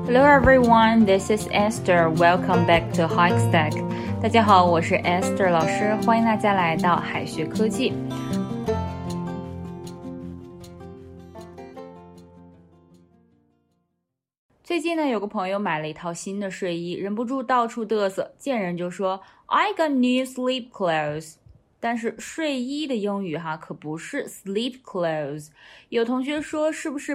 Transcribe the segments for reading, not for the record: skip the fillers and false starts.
Hello everyone, this is Esther. Welcome back to Hikestack. 大家好，我是 Esther 老师，欢迎大家来到海学科技。最近呢，有个朋友买了一套新的睡衣，忍不住到处嘚瑟，见人就说 I got new sleep clothes。但是睡衣的英语可不是 sleep clothes。有同学说是不是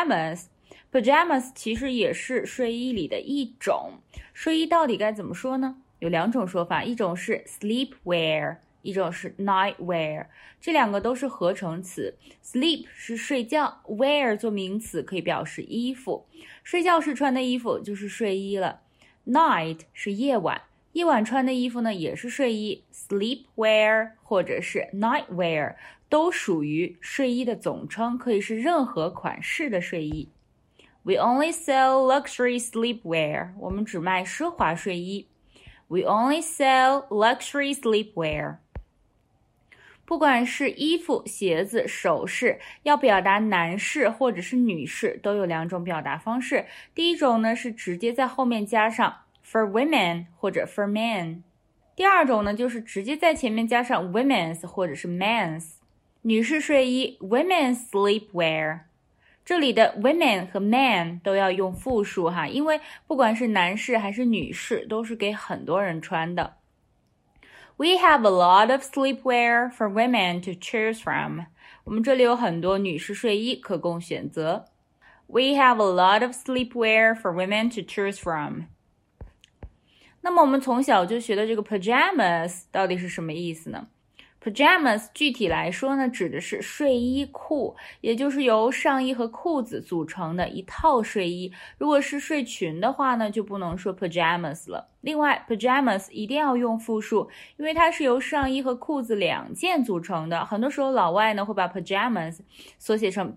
pajamas？Pajamas 其实也是睡衣里的一种。睡衣到底该怎么说呢？有两种说法，一种是 sleep wear， 一种是 night wear， 这两个都是合成词。 sleep 是睡觉， wear 做名词可以表示衣服，睡觉时穿的衣服就是睡衣了。 night 是夜晚，夜晚穿的衣服呢也是睡衣， sleep wear 或者是 night wear 都属于睡衣的总称，可以是任何款式的睡衣。We only sell luxury sleepwear. 我们只卖奢华睡衣。We only sell luxury sleepwear. 不管是衣服、鞋子、首饰，要表达男士或者是女士，都有两种表达方式。第一种呢是直接在后面加上 for women 或者 for men。第二种呢就是直接在前面加上 women's 或者是 men's。女士睡衣 women's sleepwear。这里的 women 和 men 都要用复数因为不管是男士还是女士都是给很多人穿的。We have a lot of sleepwear for women to choose from. 我们这里有很多女士睡衣可供选择。We have a lot of sleepwear for women to choose from. 那么我们从小就学的这个 pajamas 到底是什么意思呢？Pajamas 具体来说呢，指的是睡衣裤，也就是由上衣和裤子组成的一套睡衣。如果是睡裙的话呢，就不能说 pajamas 了。另外 pajamas 一定要用复数，因为它是由上衣和裤子两件组成的。很多时候老外呢会把 pajamas 缩写成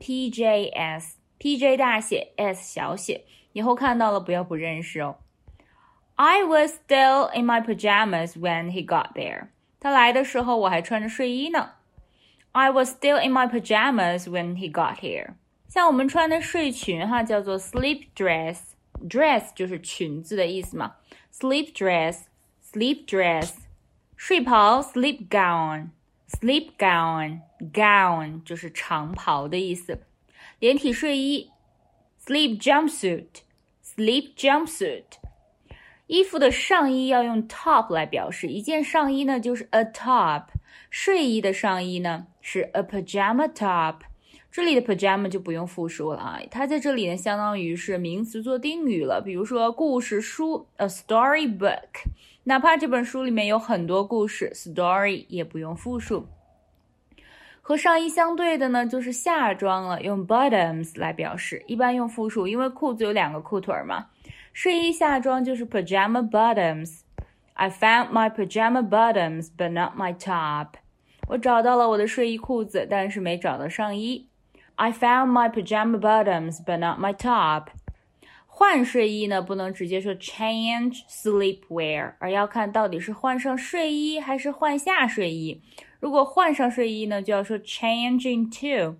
PJS， PJ 大写 S 小写，以后看到了不要不认识哦。I was still in my pajamas when he got there.他来的时候我还穿着睡衣呢。I was still in my pajamas when he got here. 像我们穿的睡裙叫做 sleep dress， dress 就是裙子的意思嘛。sleep dress， sleep dress。 睡袍 sleep gown， sleep gown， gown 就是长袍的意思。连体睡衣 sleep jumpsuit， sleep jumpsuit。衣服的上衣要用 top 来表示，一件上衣呢就是 a top， 睡衣的上衣呢是 a pajama top。 这里的 pajama 就不用复数了它在这里呢相当于是名词做定语了。比如说故事书 a storybook， 哪怕这本书里面有很多故事 story 也不用复数。和上衣相对的呢就是下装了，用 bottoms 来表示，一般用复数，因为裤子有两个裤腿嘛。睡衣下装就是 pajama bottoms。 I found my pajama bottoms but not my top。 我找到了我的睡衣裤子，但是没找到上衣。 I found my pajama bottoms but not my top。 换睡衣呢不能直接说 change sleepwear， 而要看到底是换上睡衣还是换下睡衣。如果换上睡衣呢就要说 change into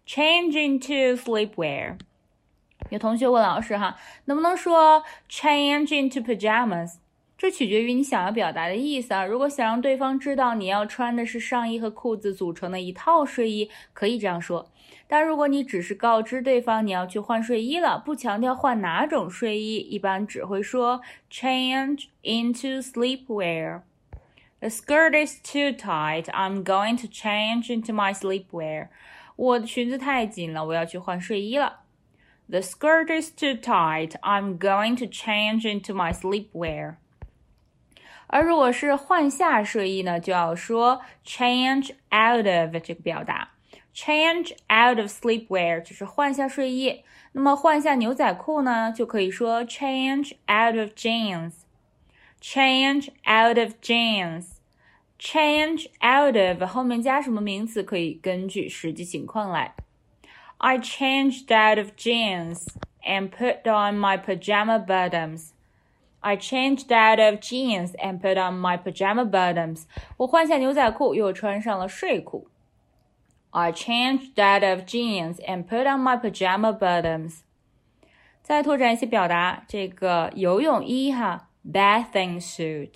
sleepwear。有同学问老师能不能说 change into pajamas？ 这取决于你想要表达的意思如果想让对方知道你要穿的是上衣和裤子组成的一套睡衣，可以这样说。但如果你只是告知对方你要去换睡衣了，不强调换哪种睡衣，一般只会说 change into sleepwear。 The skirt is too tight. I'm going to change into my sleepwear. 我的裙子太紧了，我要去换睡衣了。The skirt is too tight. I'm going to change into my sleepwear. 而如果是换下睡衣呢，就要说 change out of 这个表达。Change out of sleepwear 就是换下睡衣。那么换下牛仔裤呢，就可以说 change out of jeans。 Change out of jeans。 Change out of 后面加什么名词可以根据实际情况来。I changed out of jeans and put on my pajama bottoms. I changed out of jeans and put on my pajama bottoms. 我换下牛仔裤，又穿上了睡裤。I changed out of jeans and put on my pajama bottoms. 再拓展一些表达，这个游泳衣哈 bathing suit，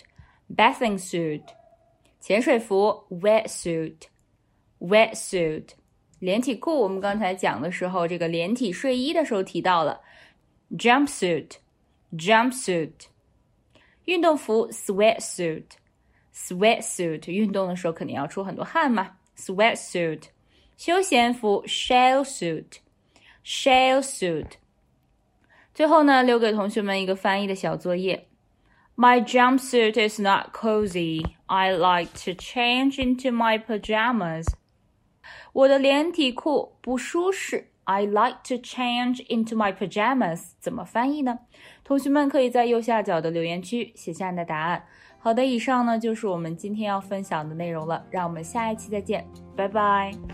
潜水服 wetsuit， 连体裤我们刚才讲的时候，这个连体睡衣的时候提到了 jumpsuit， 运动服 sweatsuit， 运动的时候肯定要出很多汗嘛 sweatsuit， 休闲服 shell suit， 最后呢，留给同学们一个翻译的小作业。My jumpsuit is not cozy. I like to change into my pajamas. 我的连体裤不舒适。I like to change into my pajamas. 怎么翻译呢？同学们可以在右下角的留言区写下你的答案。好的，以上呢就是我们今天要分享的内容了，让我们下一期再见，拜拜。